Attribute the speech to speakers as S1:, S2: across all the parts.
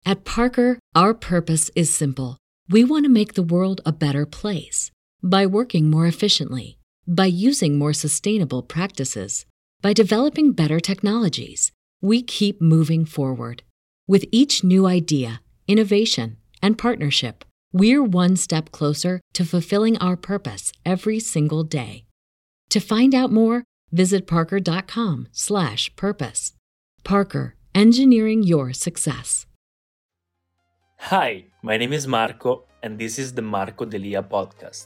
S1: At Parker, our purpose is simple. We want to make the world a better place by working more efficiently, by using more sustainable practices, by developing better technologies. We keep moving forward. With each new idea, innovation, and partnership, we're one step closer to fulfilling our purpose every single day. To find out more, visit parker.com/purpose. Parker, engineering your success.
S2: Hi, my name is Marco, and this is the Marco Delia podcast.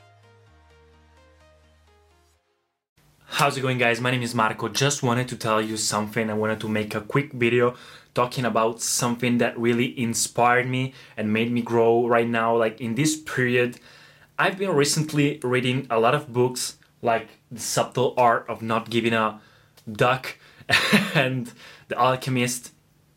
S2: How's it going, guys? My name is Marco. Just wanted to tell you something. I wanted to make a quick video talking about something that really inspired me and made me grow right now. Like in this period, I've been recently reading a lot of books like The Subtle Art of Not Giving a Duck and The Alchemist,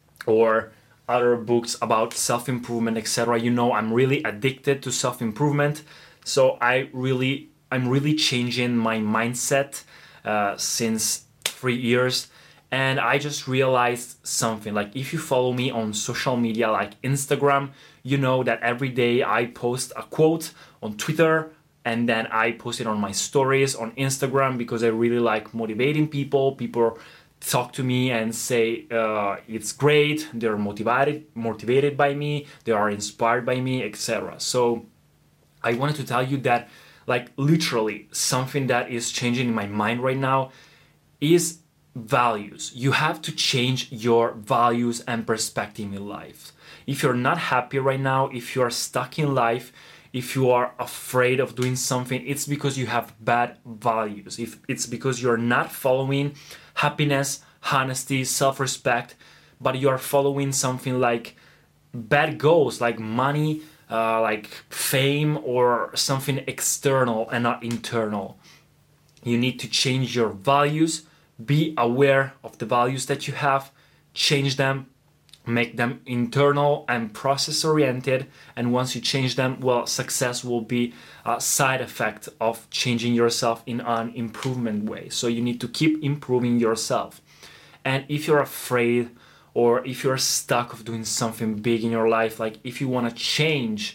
S2: or other books about self-improvement, etc. You know, I'm really addicted to self-improvement, so I'm really changing my mindset since 3 years. And I just realized something. Like, if you follow me on social media like Instagram, you know that every day I post a quote on Twitter, and then I post it on my stories on Instagram because I really like motivating people. People talk to me and say it's great, they're motivated by me, they are inspired by me, etc. So I wanted to tell you that, like, literally something that is changing in my mind right now is values. You have to change your values and perspective in life. If you're not happy right now, if you are stuck in life, if you are afraid of doing something, it's because you have bad values. If it's because you're not following happiness, honesty, self-respect, but you are following something like bad goals, like money, like fame, or something external and not internal. You need to change your values, be aware of the values that you have, change them, make them internal and process oriented, and once you change them, well, success will be a side effect of changing yourself in an improvement way. So you need to keep improving yourself. And if you're afraid, or if you're stuck of doing something big in your life, like if you want to change,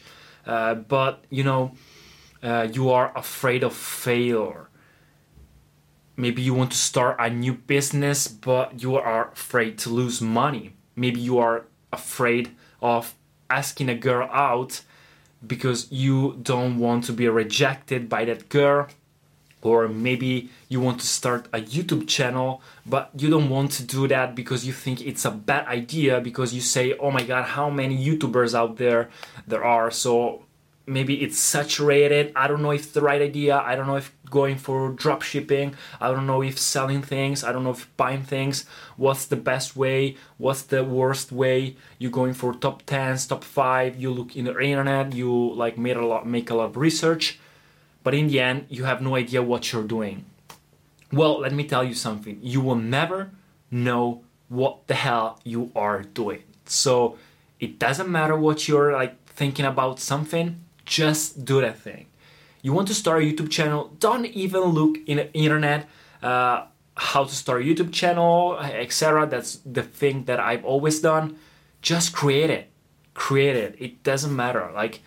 S2: but you know, you are afraid of failure. Maybe you want to start a new business, but you are afraid to lose money. Maybe you are afraid of asking a girl out because you don't want to be rejected by that girl. Or maybe you want to start a YouTube channel, but you don't want to do that because you think it's a bad idea, because you say, oh my God, how many YouTubers out there are. So maybe it's saturated. I don't know if it's the right idea. I don't know if going for drop shipping. I don't know if selling things. I don't know if buying things. What's the best way? What's the worst way? You're going for top 10s, top 5. You look in the internet. You like make a lot of research. But in the end, you have no idea what you're doing. Well, let me tell you something. You will never know what the hell you are doing. So it doesn't matter what you're like thinking about something. Just do that thing. You want to start a YouTube channel, don't even look in the internet how to start a YouTube channel, etc. That's the thing that I've always done. Just create it. It doesn't matter. Like,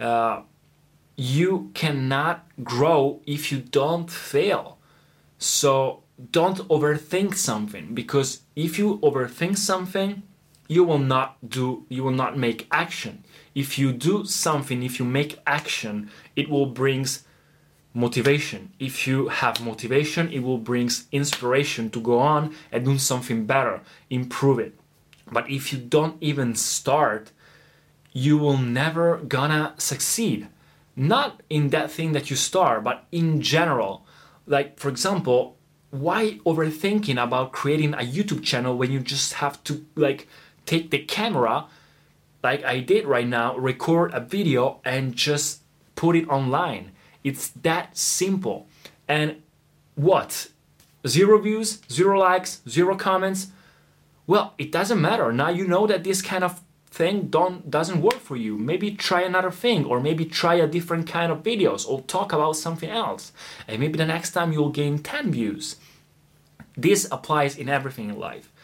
S2: you cannot grow if you don't fail. So don't overthink something, because if you overthink something, you will not make action. If you do something, if you make action, it will bring motivation. If you have motivation, it will bring inspiration to go on and do something better, improve it. But if you don't even start, you will never gonna succeed. Not in that thing that you start, but in general. Like, for example, why overthinking about creating a YouTube channel when you just have to like take the camera, like I did right now, record a video and just put it online? It's that simple. And what? 0 views, 0 likes, 0 comments? Well, it doesn't matter. Now you know that this kind of thing doesn't work for you. Maybe try another thing, or maybe try a different kind of videos, or talk about something else. And maybe the next time you'll gain 10 views. This applies in everything in life.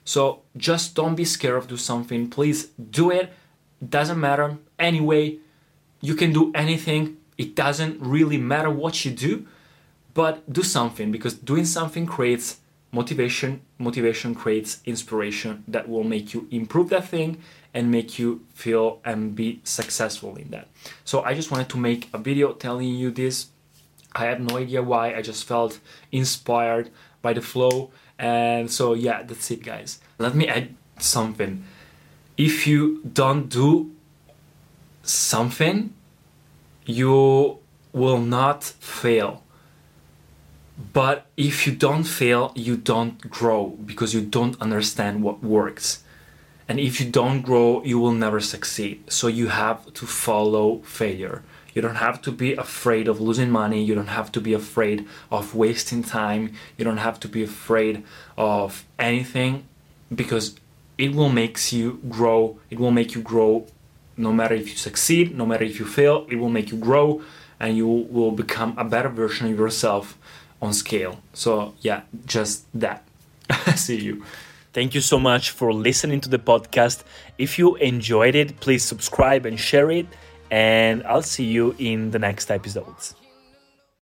S2: So just don't be scared of do something. Please do it. Doesn't matter. Anyway, you can do anything. It doesn't really matter what you do, but do something, because doing something creates motivation. Motivation creates inspiration that will make you improve that thing and make you feel and be successful in that. So I just wanted to make a video telling you this. I have no idea why. I just felt inspired by the flow. And so yeah, that's it, guys. Let me add something. If you don't do something, you will not fail. But if you don't fail, you don't grow, because you don't understand what works. And if you don't grow, you will never succeed. So you have to follow failure. You don't have to be afraid of losing money. You don't have to be afraid of wasting time. You don't have to be afraid of anything, because it will make you grow. It will make you grow no matter if you succeed, no matter if you fail. It will make you grow, and you will become a better version of yourself on scale. So yeah, just that. See you. Thank you so much for listening to the podcast. If you enjoyed it, please subscribe and share it, and I'll see you in the next episodes.